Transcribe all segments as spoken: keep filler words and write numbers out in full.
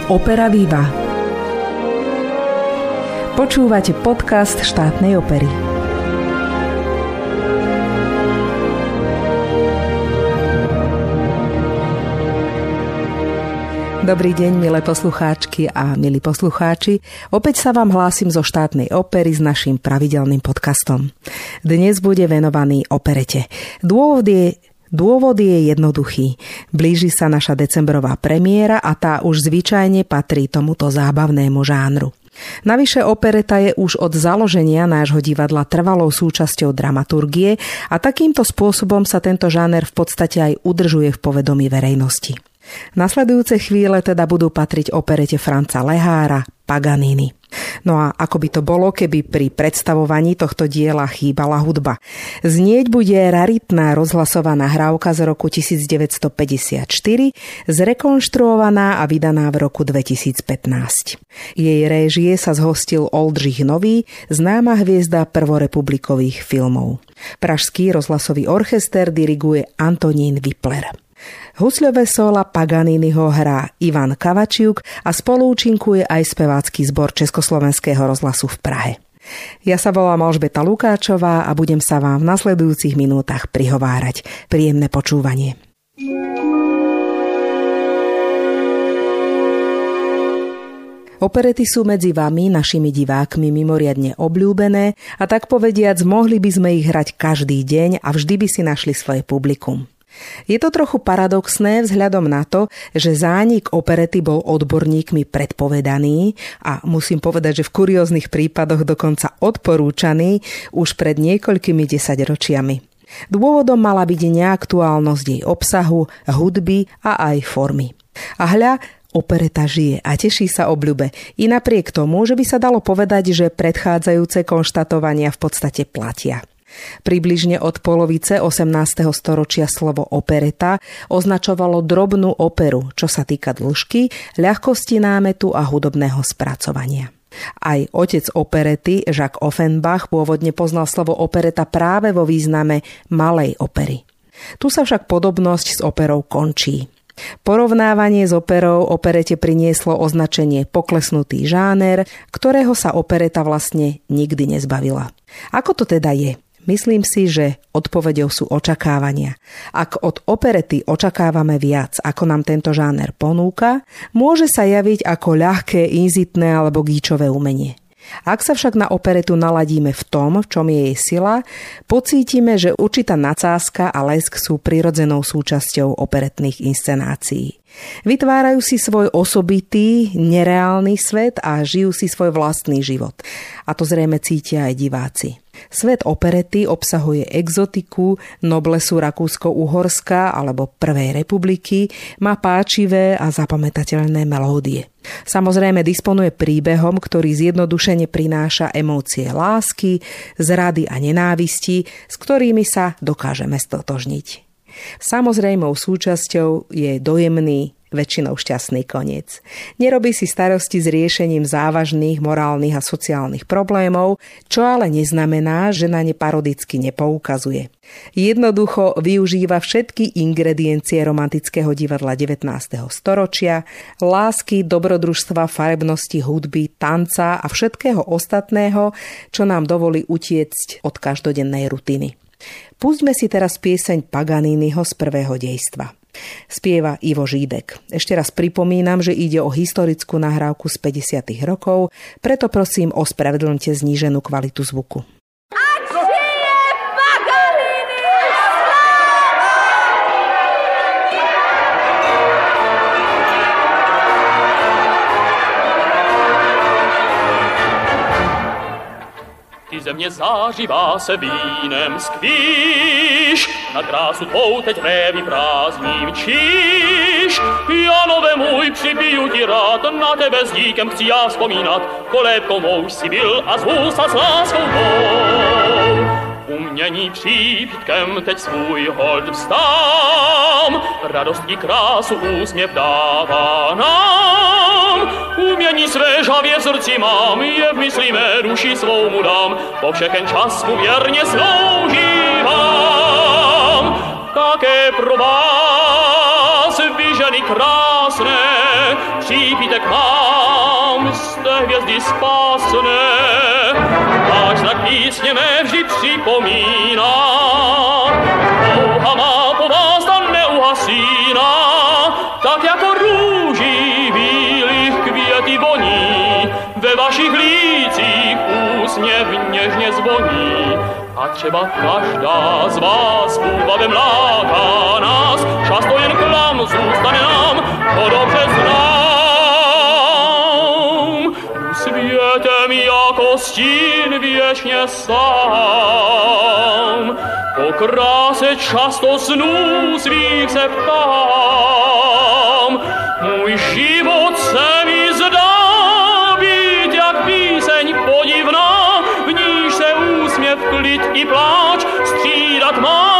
Opera Viva. Počúvate podcast Štátnej opery. Dobrý deň, milé poslucháčky a milí poslucháči. Opäť sa vám hlásim zo Štátnej opery s naším pravidelným podcastom. Dnes bude venovaný operete. Dôvod je Dôvod je jednoduchý. Blíži sa naša decembrová premiéra a tá už zvyčajne patrí tomuto zábavnému žánru. Navyše opereta je už od založenia nášho divadla trvalou súčasťou dramaturgie a takýmto spôsobom sa tento žáner v podstate aj udržuje v povedomí verejnosti. Nasledujúce chvíle teda budú patriť operete Franza Lehára Paganini. No a ako by to bolo, keby pri predstavovaní tohto diela chýbala hudba? Znieť bude raritná rozhlasová nahrávka z roku devätnásťstopäťdesiatštyri, zrekonštruovaná a vydaná v roku dvetisícpätnásť. Jej réžie sa zhostil Oldřich Nový, známa hviezda prvorepublikových filmov. Pražský rozhlasový orchester diriguje Antonín Wipler. Husľové sóla Paganiniho hrá Ivan Kavačiuk a spoluúčinkuje aj spevácky zbor Československého rozhlasu v Prahe. Ja sa volám Alžbeta Lukáčová a budem sa vám v nasledujúcich minútach prihovárať. Príjemné počúvanie. Operety sú medzi vami, našimi divákmi, mimoriadne obľúbené a tak povediac mohli by sme ich hrať každý deň a vždy by si našli svoje publikum. Je to trochu paradoxné vzhľadom na to, že zánik operety bol odborníkmi predpovedaný a musím povedať, že v kurióznych prípadoch dokonca odporúčaný už pred niekoľkými desaťročiami. Dôvodom mala byť neaktuálnosť jej obsahu, hudby a aj formy. A hľa, opereta žije a teší sa obľube. I napriek tomu, že by sa dalo povedať, že predchádzajúce konštatovania v podstate platia. Približne od polovice osemnásteho storočia slovo opereta označovalo drobnú operu, čo sa týka dĺžky, ľahkosti námetu a hudobného spracovania. Aj otec operety, Jacques Offenbach, pôvodne poznal slovo opereta práve vo význame malej opery. Tu sa však podobnosť s operou končí. Porovnávanie s operou operete prinieslo označenie poklesnutý žáner, ktorého sa opereta vlastne nikdy nezbavila. Ako to teda je? Myslím si, že odpoveďou sú očakávania. Ak od operety očakávame viac, ako nám tento žáner ponúka, môže sa javiť ako ľahké, inzitné alebo gíčové umenie. Ak sa však na operetu naladíme v tom, v čom je jej sila, pocítime, že určitá nadsázka a lesk sú prirodzenou súčasťou operetných inscenácií. Vytvárajú si svoj osobitý, nereálny svet a žijú si svoj vlastný život. A to zrejme cítia aj diváci. Svet operety obsahuje exotiku, noblesu Rakúsko-Uhorska alebo Prvej republiky, má páčivé a zapamätateľné melódie. Samozrejme disponuje príbehom, ktorý zjednodušene prináša emócie lásky, zrady a nenávisti, s ktorými sa dokážeme stotožniť. Samozrejmou súčasťou je dojemný, väčšinou šťastný koniec. Nerobí si starosti s riešením závažných morálnych a sociálnych problémov, čo ale neznamená, že na ne parodicky nepoukazuje. Jednoducho využíva všetky ingrediencie romantického divadla devätnásteho storočia, lásky, dobrodružstva, farebnosti, hudby, tanca a všetkého ostatného, čo nám dovolí utiecť od každodennej rutiny. Pustíme si teraz pieseň Paganiniho z prvého dejstva. Spieva Ivo Žídek. Ešte raz pripomínam, že ide o historickú nahrávku z päťdesiatych rokov, preto prosím ospravedlňte zníženú kvalitu zvuku. Země zářivá se vínem skvíš, na krásu tvou teď révy prázdním číš. Janove můj, přibiju ti rád, na tebe s díkem chci já vzpomínat, kolébkou mou si byl a zvu sa s láskou tvou. Umění přípitkem teď svůj hold vstám, radost i krásu úsměv dává nám. Umění své žavě v srdci mám, je v mysli mé duši svou mu dám, po všechen čas mu věrně sloužívám. Také pro vás vyžaduji ženy krásné, přijďte k nám, jste hvězdy spásné. Váš znak písně mé vždy připomíná, touha má po vás ta neuhasíná, tak jako růží bílých květy voní, ve vašich lících úsměv něžně zvoní. A třeba každá z vás úbavem láká nás, často jen klam zůstane nám, to dobře znám. Světem jako stín věčně sám, po kráse často snů svých se ptám. Můj život se mi zdá být jak píseň podivná, v níž se úsměv, klid i pláč střídat má.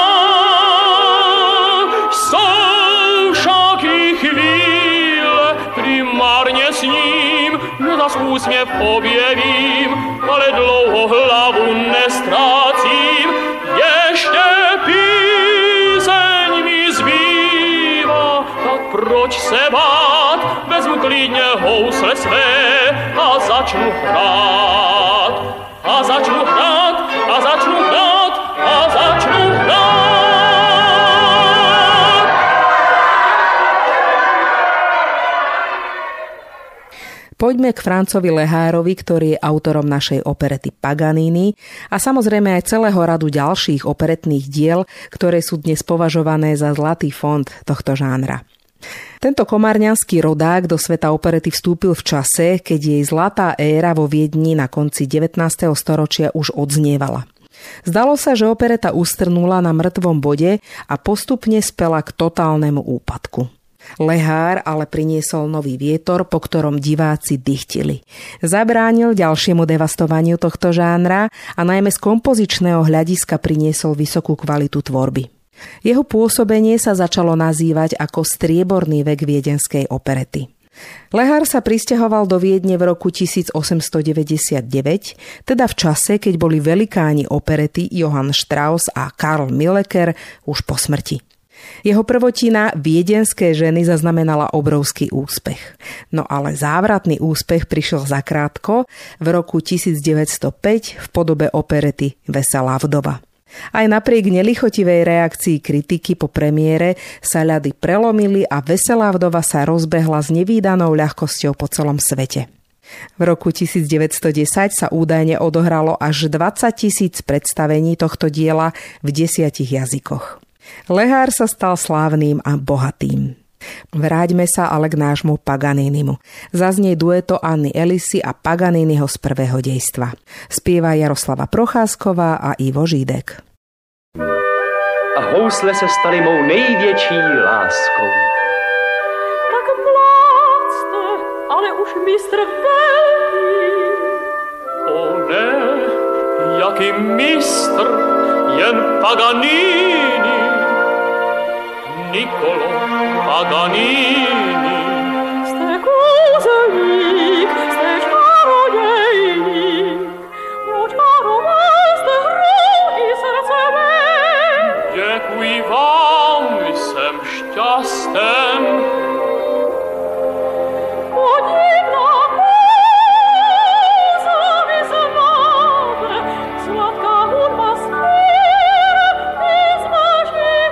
Jsou však i chvíle, kdy marně sním, že zas úsměv objevím, ale dlouho hlavu nestrácím. Ještě píseň mi zbývá, tak proč se bát? Vezmu klidně housle své a začnu hrát. A začnu hrát, a začnu hrát, a začnu hrát. Poďme k Francovi Lehárovi, ktorý je autorom našej operety Paganini a samozrejme aj celého radu ďalších operetných diel, ktoré sú dnes považované za zlatý fond tohto žánra. Tento komárňanský rodák do sveta operety vstúpil v čase, keď jej zlatá éra vo Viedni na konci devätnásteho storočia už odznievala. Zdalo sa, že opereta ustrnula na mŕtvom bode a postupne spela k totálnemu úpadku. Lehár ale priniesol nový vietor, po ktorom diváci dychtili. Zabránil ďalšiemu devastovaniu tohto žánra a najmä z kompozičného hľadiska priniesol vysokú kvalitu tvorby. Jeho pôsobenie sa začalo nazývať ako strieborný vek viedenskej operety. Lehár sa prisťahoval do Viedne v roku tisícosemstodeväťdesiatdeväť, teda v čase, keď boli velikáni operety Johann Strauss a Karl Milleker už po smrti. Jeho prvotina Viedenské ženy zaznamenala obrovský úspech. No ale závratný úspech prišiel zakrátko v roku tisícdeväťstopäť v podobe operety Veselá vdova. Aj napriek nelichotivej reakcii kritiky po premiére sa ľady prelomili a Veselá vdova sa rozbehla s nevídanou ľahkosťou po celom svete. V roku tisícdeväťstodesať sa údajne odohralo až dvadsať tisíc predstavení tohto diela v desiatich jazykoch. Lehár sa stal slávnym a bohatým. Vráťme sa ale k nášmu Paganinimu. Zaznie dueto Anny Elisy a Paganiniho z prvého dejstva. Spieva Jaroslava Procházková a Ivo Žídek. A housle se staly mou největší láskou. Tak mlád jste, ale už mistr velký. O ne, jaký mistr, jen Paganini. Niccolo Paganini. Jste kouzelník, jste čarodějník, očaroval jste hrou i srdce mé. Děkuji vám, jsem šťasten. Podivná kouza mi znáte, sladká hudba zpěv i z vašich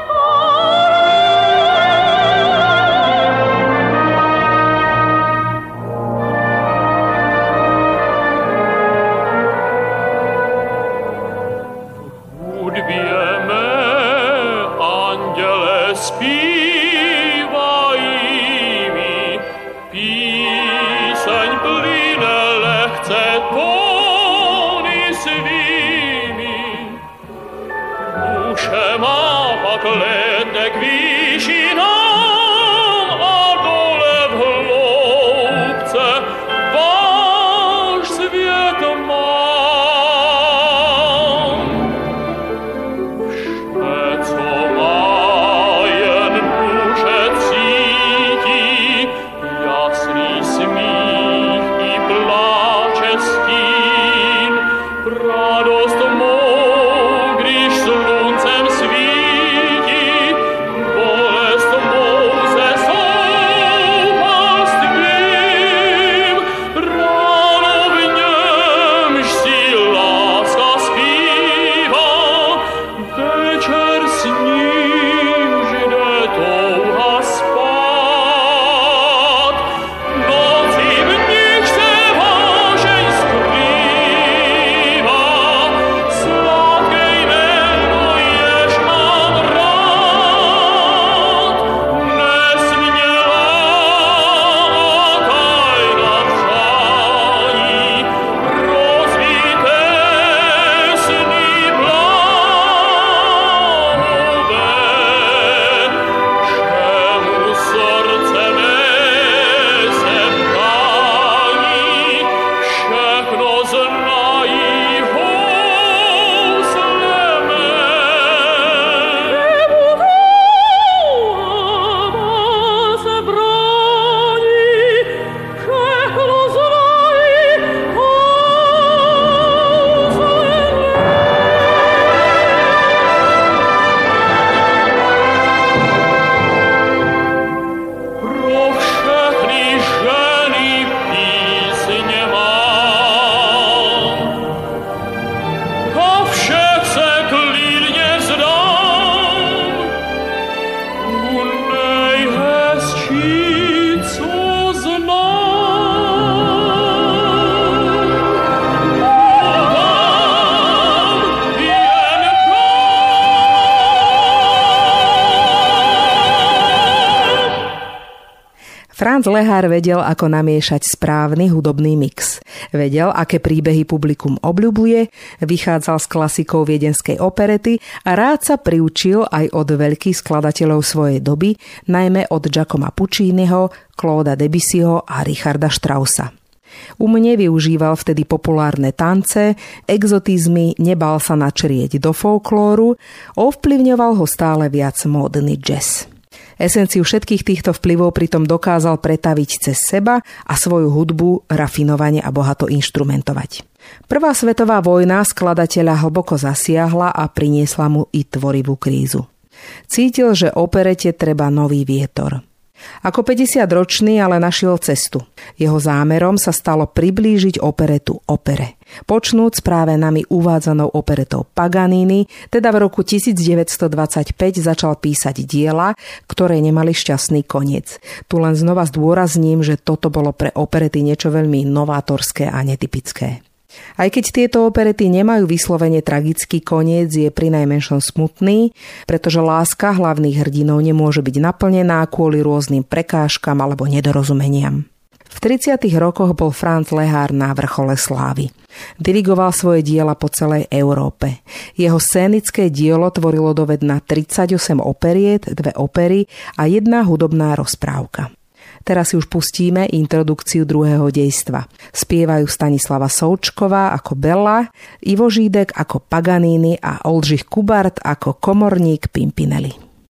Franz Lehár vedel, ako namiešať správny hudobný mix. Vedel, aké príbehy publikum obľubuje, vychádzal z klasikov viedenskej operety a rád sa priučil aj od veľkých skladateľov svojej doby, najmä od Giacomo Pucciniho, Clauda Debussyho a Richarda Straussa. Umne využíval vtedy populárne tance, exotizmy, nebal sa načrieť do folklóru, ovplyvňoval ho stále viac módny jazz. Esenciu všetkých týchto vplyvov pritom dokázal pretaviť cez seba a svoju hudbu rafinovane a bohato inštrumentovať. Prvá svetová vojna skladateľa hlboko zasiahla a priniesla mu i tvorivú krízu. Cítil, že operete treba nový vietor. Ako päťdesiatročný ale našiel cestu. Jeho zámerom sa stalo priblížiť operetu opere. Počnúc práve nami uvádzanou operetou Paganini, teda v roku devätnásťstodvadsaťpäť začal písať diela, ktoré nemali šťastný koniec. Tu len znova zdôrazním, že toto bolo pre operety niečo veľmi novátorské a netypické. Aj keď tieto operety nemajú vyslovene tragický koniec, je prinajmenšom smutný, pretože láska hlavných hrdinov nemôže byť naplnená kvôli rôznym prekážkam alebo nedorozumeniam. V tridsiatych rokoch bol Franz Lehár na vrchole slávy. Dirigoval svoje diela po celej Európe. Jeho scénické dielo tvorilo dovedna tridsaťosem operiet, dve opery a jedna hudobná rozprávka. Teraz si už pustíme introdukciu druhého dejstva. Spievajú Stanislava Součková ako Bella, Ivo Žídek ako Paganini a Oldřich Kubart ako komorník Pimpinelli.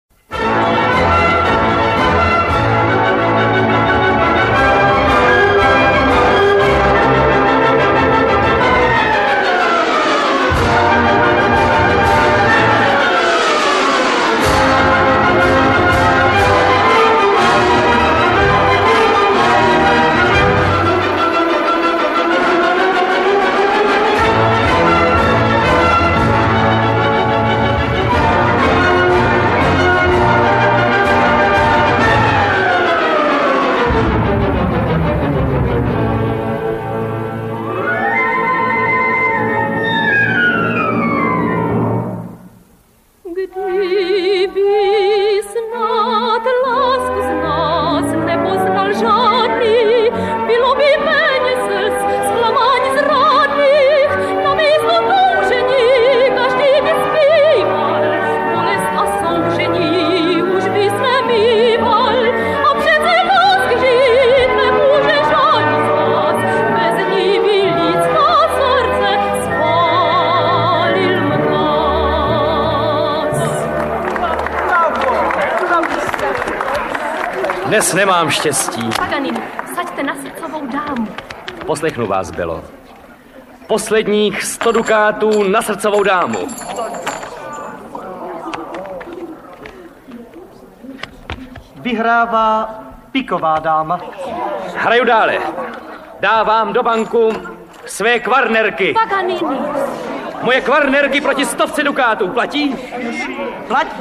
Dnes nemám štěstí. Paganini, saďte na srdcovou dámu. Poslechnu vás, Belo. Posledních sto dukátů na srdcovou dámu. Vyhrává piková dáma. Hraju dále. Dávám do banku své kvarnerky. Paganini. Moje kvarnerky proti stovce dukátů. Platí? Platí.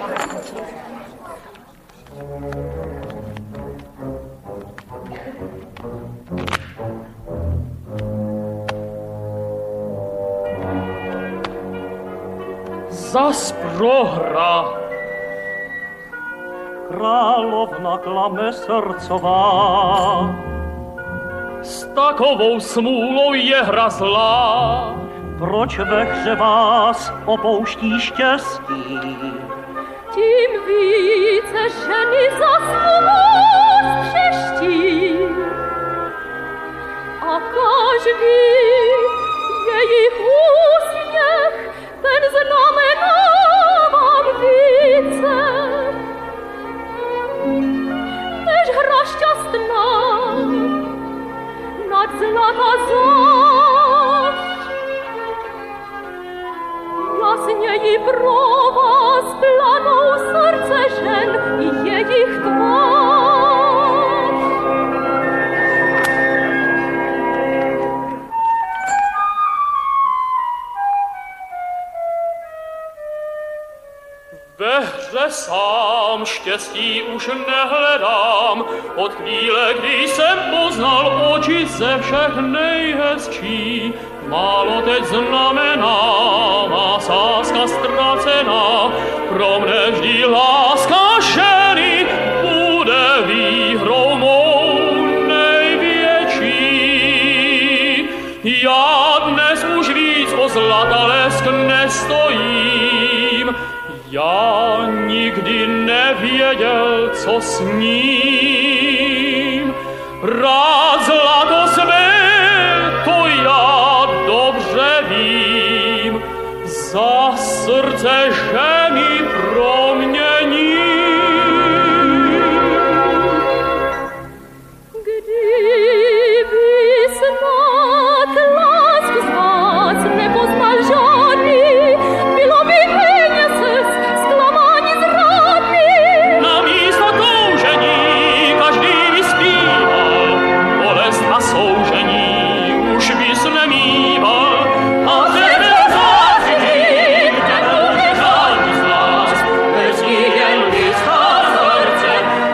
Zas prohra. Královna klame srdcová. S takovou smůlou je hra zlá. Proč ve hře vás opouští štěstí? Tím více ženy za svou přeští. A každý jejich úsměch, ten znamená vám více, než hra šťastná nad zlata zášť. Jasněji pro vás planou srdce žen i jejich tvář. Ve hře sám štěstí už nehledám, od chvíle, kdy jsem poznal oči ze všech nejhezčí. Málo teď znamená má sázka ztracená, pro mne vždy láska ženy bude výhrou mou. Já nikdy nevěděl, co s ním. Rád zlato své, to já dobře vím. Za srdce, že mi promění. Kdyby snad lásk z vás nepoznal žádný, bylo by peněz zklamání zrádný. Na místo toužení každý vyspíval, bolest a soužení už bys nemýval. A tebe záření, kterou nežádný z nás, bez ní jen blízká srdce.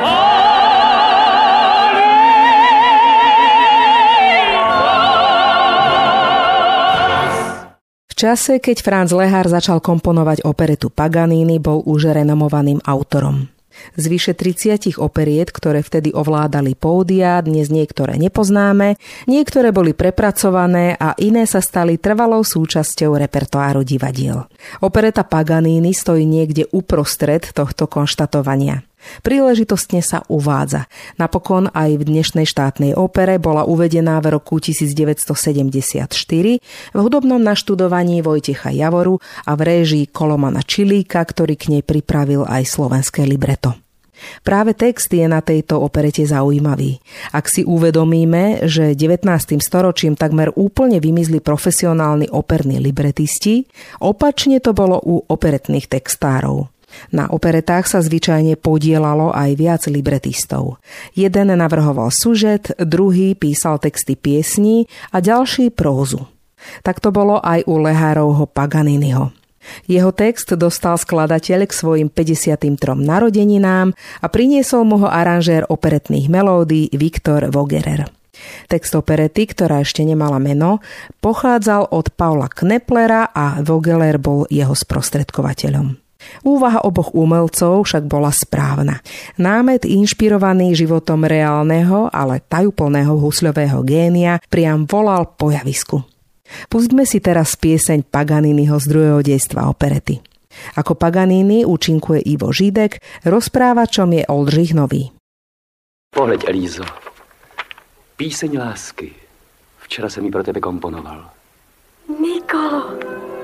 V čase, keď Franz Lehár začal komponovať operetu Paganini, bol už renomovaným autorom. Z vyše tridsať operiet, ktoré vtedy ovládali pódia, dnes niektoré nepoznáme, niektoré boli prepracované a iné sa stali trvalou súčasťou repertoáru divadiel. Opereta Paganini stojí niekde uprostred tohto konštatovania. Príležitostne sa uvádza. Napokon aj v dnešnej štátnej opere bola uvedená v roku devätnásťstosedemdesiatštyri v hudobnom naštudovaní Vojtecha Javoru a v réžii Kolomana Čilíka, ktorý k nej pripravil aj slovenské libreto. Práve text je na tejto operete zaujímavý. Ak si uvedomíme, že devätnástym storočím takmer úplne vymizli profesionálni operní libretisti, opačne to bolo u operetných textárov. Na operetách sa zvyčajne podielalo aj viac libretistov. Jeden navrhoval sužet, druhý písal texty piesní a ďalší prózu. Tak to bolo aj u Lehárovho Paganiniho. Jeho text dostal skladateľ k svojim päťdesiatym trom narodeninám a priniesol mu ho aranžér operetných melódií Viktor Vogerer. Text operety, ktorá ešte nemala meno, pochádzal od Paula Kneplera a Vogeler bol jeho sprostredkovateľom. Úvaha oboch umelcov však bola správna. Námet inšpirovaný životom reálneho, ale tajúplného husľového génia priam volal po javisku. Pustme si teraz pieseň Paganiniho z druhého dejstva operety. Ako Paganini účinkuje Ivo Žídek, rozprávačom je Oldřich Nový. Pohleď, Elízo. Píseň lásky. Včera jsem ji pro tebe komponoval. Nikolo,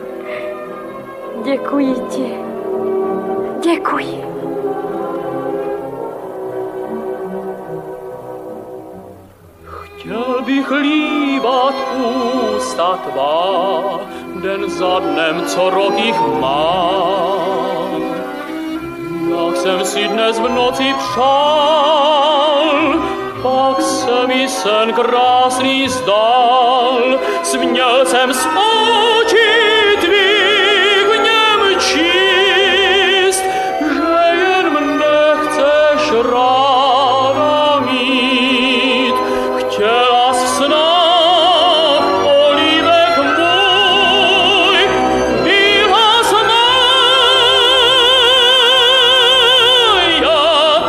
děkuji ti. Děkuji. Chtěl bych líbat ústa tvá, den za dnem, co rok jich mám. Jak jsem si dnes v noci přál, pak se mi sen krásný zdál. Směl jsem z očí tvých v něm číst, že jen mne chceš ráda mít. Chtěla snad polívek můj, byla jsme jak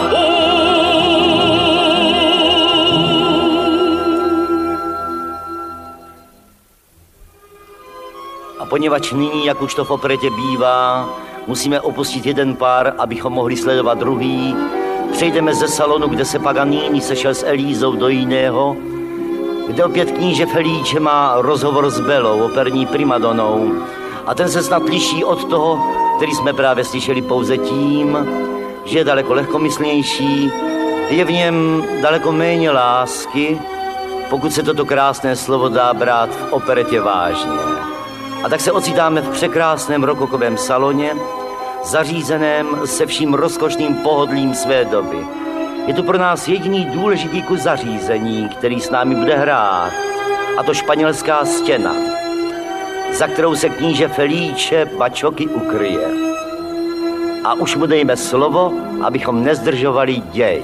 A poněvadž nyní, jak už to v operetě bývá, musíme opustit jeden pár, abychom mohli sledovat druhý, přejdeme ze salonu, kde se Paganini sešel s Elízou, do jiného, kde opět kníže Felice má rozhovor s Belou, operní primadonou. A ten se snad liší od toho, který jsme právě slyšeli, pouze tím, že je daleko lehkomyslnější, je v něm daleko méně lásky, pokud se toto krásné slovo dá brát v operetě vážně. A tak se ocitáme v překrásném rokokovém saloně, zařízeném se vším rozkošným pohodlím své doby. Je tu pro nás jediný důležitý kus zařízení, který s námi bude hrát, a to španělská stěna, za kterou se kníže Felice bačoky ukryje. A už mu dejme slovo, abychom nezdržovali děj.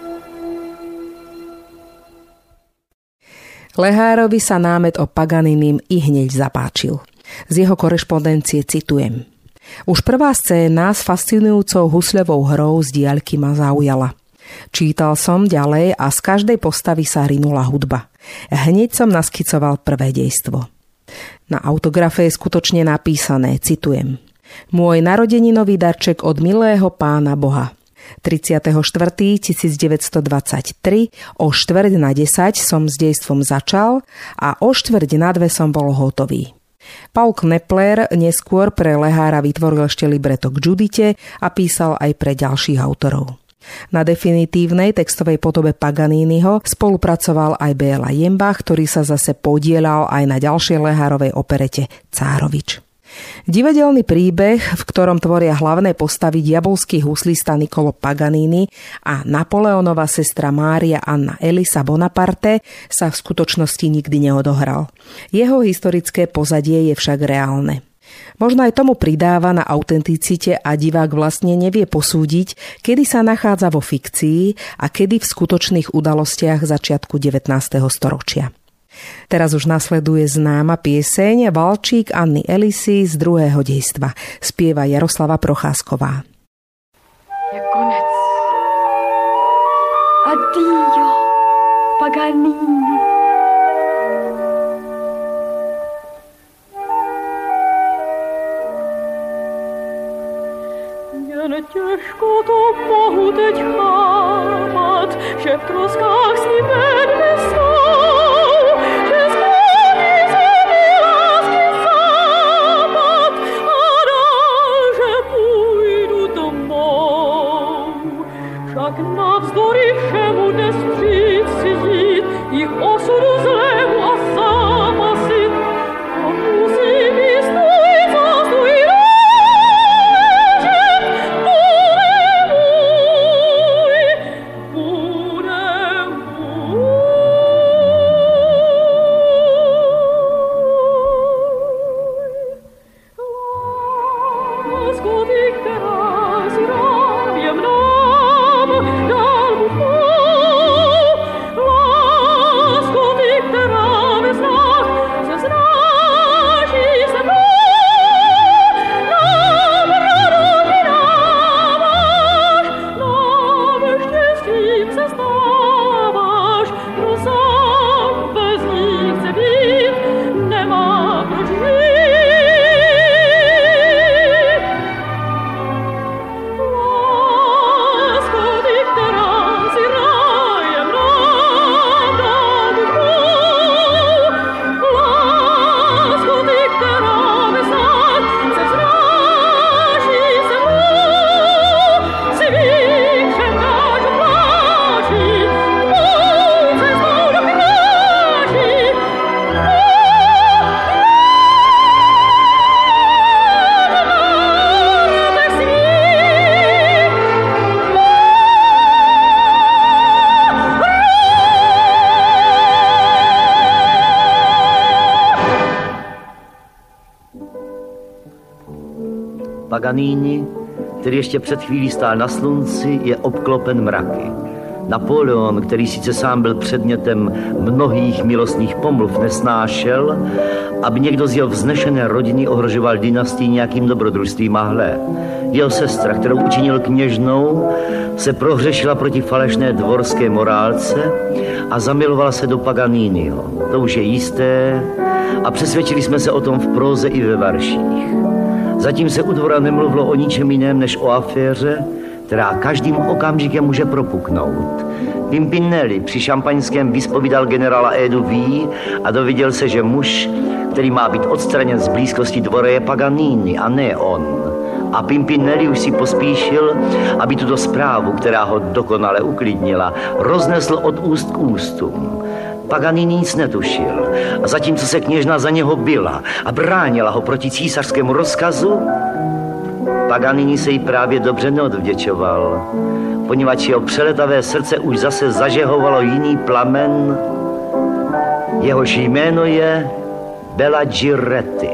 Lehárovi sa námet o Paganinim i hneď zapáčil. Z jeho korešpondencie citujem. Už prvá scéna s fascinujúcou husľovou hrou z diaľky ma zaujala. Čítal som ďalej a z každej postavy sa rinula hudba. Hneď som naskicoval prvé dejstvo. Na autografe je skutočne napísané, citujem. Môj narodeninový darček od milého Pána Boha. tridsiateho štvrtého tisícdeväťstodvadsaťtri o štvrť na desať som s dejstvom začal a o štvrť na dve som bol hotový. Paul Knepler neskôr pre Lehára vytvoril ešte libreto k Judite a písal aj pre ďalších autorov. Na definitívnej textovej podobe Paganiniho spolupracoval aj Béla Jembach, ktorý sa zase podielal aj na ďalšej Lehárovej operete Cárovič. Divadelný príbeh, v ktorom tvoria hlavné postavy diabolský huslista Niccolo Paganini a Napoleonova sestra Mária Anna Elisa Bonaparte, sa v skutočnosti nikdy neodohral. Jeho historické pozadie je však reálne. Možno aj tomu pridáva na autenticite a divák vlastne nevie posúdiť, kedy sa nachádza vo fikcii a kedy v skutočných udalostiach začiatku devätnásteho storočia. Teraz už nasleduje známa pieseň Valčík Anny Elisy z druhého dejstva. Spieva Jaroslava Procházková. Je konec. Addio, Paganini. Jen těžko to mohu teď chápat, že v troskách s ním vedle jsou, že změní se mi lásky západ a dál, že půjdu domů. Však navzdory všemu dnes přijít si jít, jich osudu zlému a zápasit, a musím jí stůj za stůj Paganini, který ještě před chvílí stál na slunci, je obklopen mraky. Napoleon, který sice sám byl předmětem mnohých milostných pomluv, nesnášel, aby někdo z jeho vznešené rodiny ohrožoval dynastii nějakým dobrodružstvím a hle. Jeho sestra, kterou učinil kněžnou, se prohřešila proti falešné dvorské morálce a zamilovala se do Paganiniho. To už je jisté a přesvědčili jsme se o tom v próze i ve verších. Zatím se u dvora nemluvilo o ničem jiném než o aféře, která každým okamžikem může propuknout. Pimpinelli při šampaňském vyspovídal generála Edu V a dověděl se, že muž, který má být odstraněn z blízkosti dvora, je Paganini a ne on. A Pimpinelli už si pospíšil, aby tuto zprávu, která ho dokonale uklidnila, roznesl od úst k ústům. Paganini nic netušil a zatímco se kněžna za něho byla a bránila ho proti císařskému rozkazu, Paganini se jí právě dobře neodvděčoval, poněvadž jeho přeletavé srdce už zase zažehovalo jiný plamen, jehož jméno je Bela Giretti.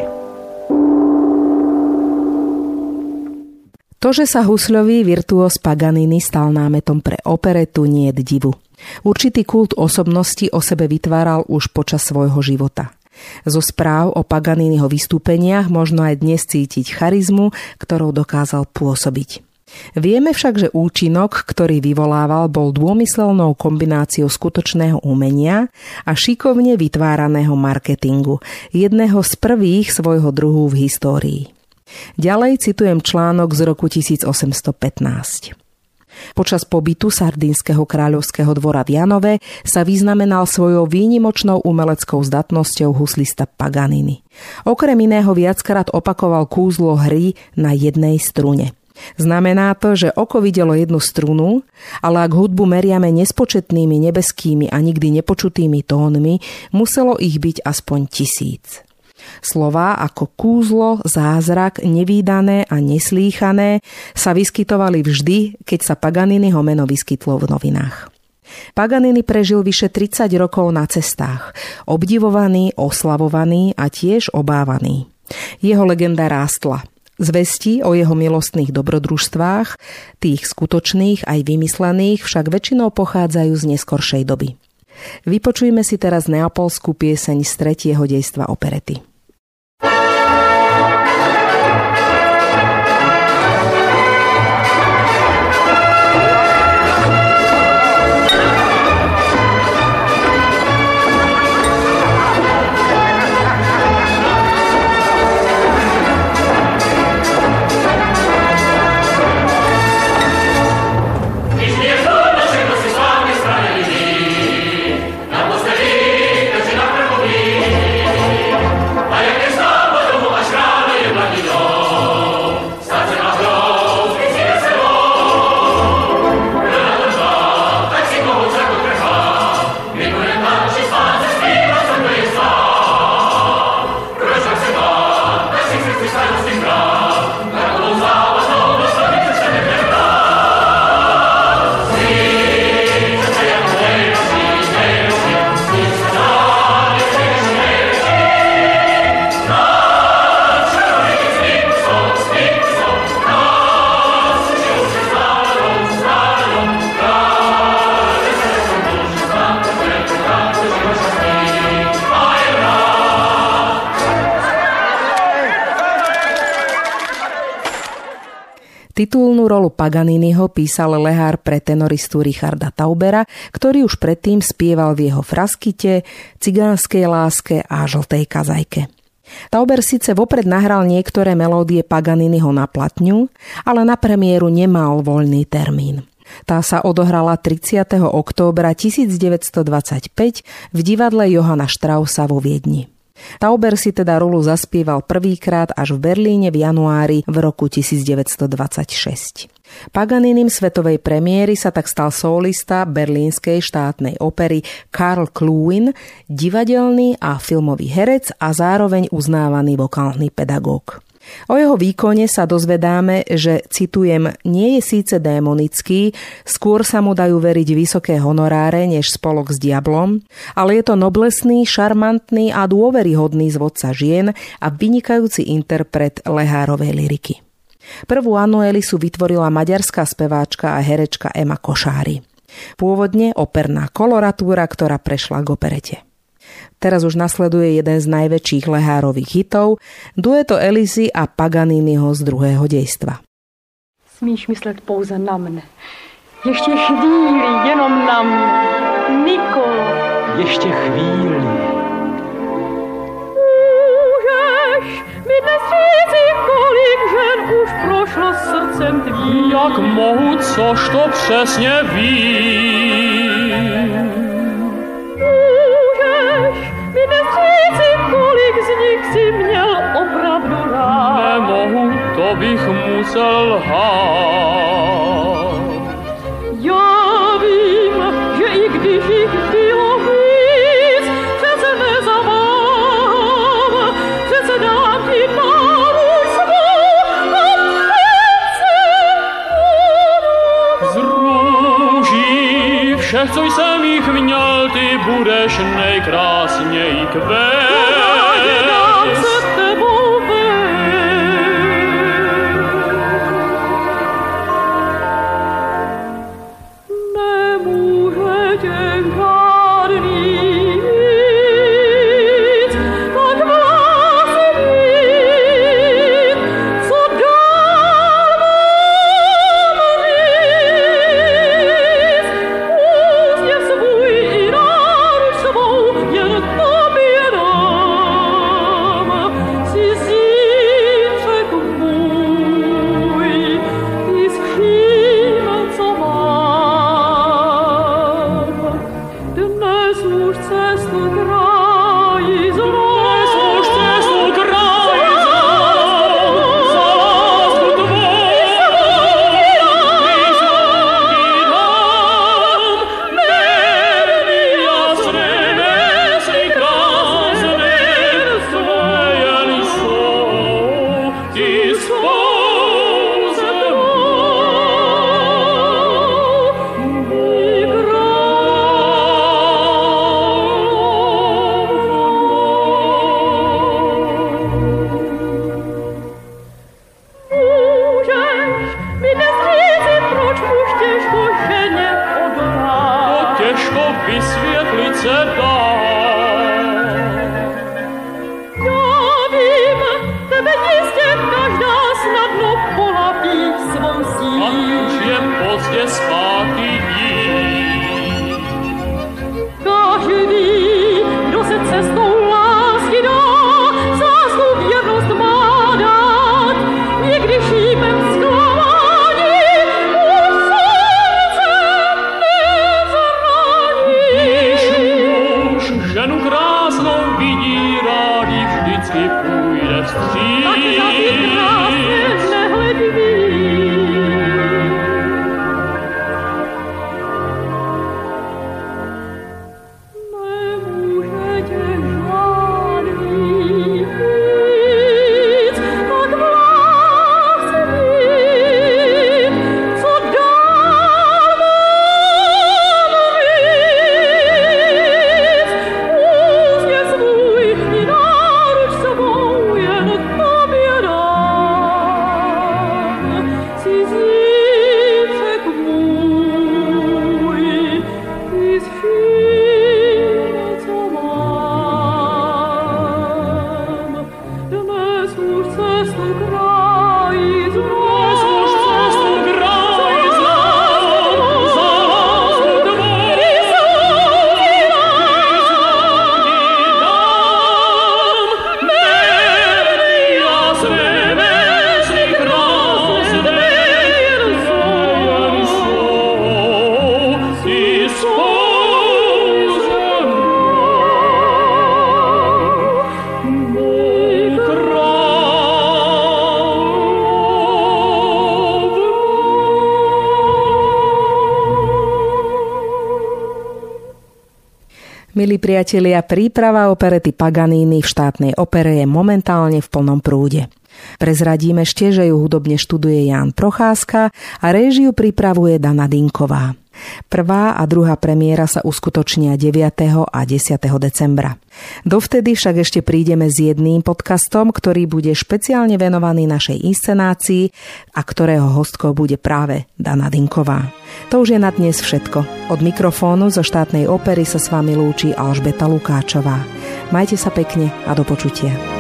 To, že sa husľový virtuós Paganini stal námetom pre operetu, nie je divu. Určitý kult osobnosti o sebe vytváral už počas svojho života. Zo správ o Paganiniho vystúpeniach možno aj dnes cítiť charizmu, ktorou dokázal pôsobiť. Vieme však, že účinok, ktorý vyvolával, bol dômyselnou kombináciou skutočného umenia a šikovne vytváraného marketingu, jedného z prvých svojho druhu v histórii. Ďalej citujem článok z roku tisícosemstopätnásť. Počas pobytu Sardínskeho kráľovského dvora v Janove sa vyznamenal svojou výnimočnou umeleckou zdatnosťou huslista Paganini. Okrem iného viackrát opakoval kúzlo hry na jednej strune. Znamená to, že oko videlo jednu strunu, ale ak hudbu meriame nespočetnými nebeskými a nikdy nepočutými tónmi, muselo ich byť aspoň tisíc. Slová ako kúzlo, zázrak, nevídané a neslýchané sa vyskytovali vždy, keď sa Paganiniho meno vyskytlo v novinách. Paganini prežil vyše tridsať rokov na cestách, obdivovaný, oslavovaný a tiež obávaný. Jeho legenda rástla. Zvesti o jeho milostných dobrodružstvách, tých skutočných aj vymyslených, však väčšinou pochádzajú z neskoršej doby. Vypočujme si teraz neapolskú pieseň z tretieho dejstva operety. Titulnú rolu Paganiniho písal lehár pre tenoristu Richarda Taubera, ktorý už predtým spieval v jeho Fraskite, Cigánskej láske a Žltej kazajke. Tauber síce vopred nahral niektoré melódie Paganiniho na platňu, ale na premiéru nemal voľný termín. Tá sa odohrala tridsiateho októbra tisícdeväťstodvadsaťpäť v divadle Johanna Straussa vo Viedni. Tauber si teda rolu zaspieval prvýkrát až v Berlíne v januári v roku tisícdeväťstodvadsaťšesť. Paganinim svetovej premiéry sa tak stal solista berlínskej štátnej opery Karl Kluin, divadelný a filmový herec a zároveň uznávaný vokálny pedagóg. O jeho výkone sa dozvedáme, že, citujem, nie je síce démonický, skôr sa mu dajú veriť vysoké honoráre než spolok s diablom, ale je to noblesný, šarmantný a dôveryhodný zvodca žien a vynikajúci interpret lehárovej lyriky. Prvú Anuelisu vytvorila maďarská speváčka a herečka Ema Košári. Pôvodne operná koloratúra, ktorá prešla k operete. Teraz už nasleduje jeden z najväčších lehárových hitov, dueto Elisy a Paganiniho z druhého dejstva. Smíš myslet pouze na mne. Ještě chvíli, jenom na mne. Nikolo. Ještě chvíli. Můžeš mi dnes říci, kolik žen už prošlo srdcem tvým. Jak mohu, což to přesně vím. Mi dnes říci, kolik z nich si měl opravdu rád. Nemohu, to bych musel lhát. Já vím, že i když jich bylo víc, přece nezaváhám, přece dám ti páru svou a přece Z růží všech, co jsem jich měl, ty budeš nejkrásněji kvést. Jen poběda. mi dnes říci, proč muž těžko ženě odolá. To těžko vysvětlit se dá. Já vím, tebe jistě každá snadno polapí svou sílí. A už je pozdě zpátky jít. Každý, kdo se cestou lásky dá, zásku věrnost má dát. Někdy šípem zklamání už srdce nezraní. Když muž ženu krásnou vidí, rádi vždycky půjde vstříc. Tak na ty krásně nehledí. Milí priatelia, príprava operety Paganini v štátnej opere je momentálne v plnom prúde. Prezradím ešte, že ju hudobne študuje Ján Procházka a réžiu pripravuje Dana Dynková. Prvá a druhá premiéra sa uskutočnia deviateho a desiateho decembra. Dovtedy však ešte prídeme s jedným podcastom, ktorý bude špeciálne venovaný našej inscenácii a ktorého hostkou bude práve Dana Dynková. To už je na dnes všetko. Od mikrofónu zo štátnej opery sa s vami lúči Alžbeta Lukáčová. Majte sa pekne a do počutia.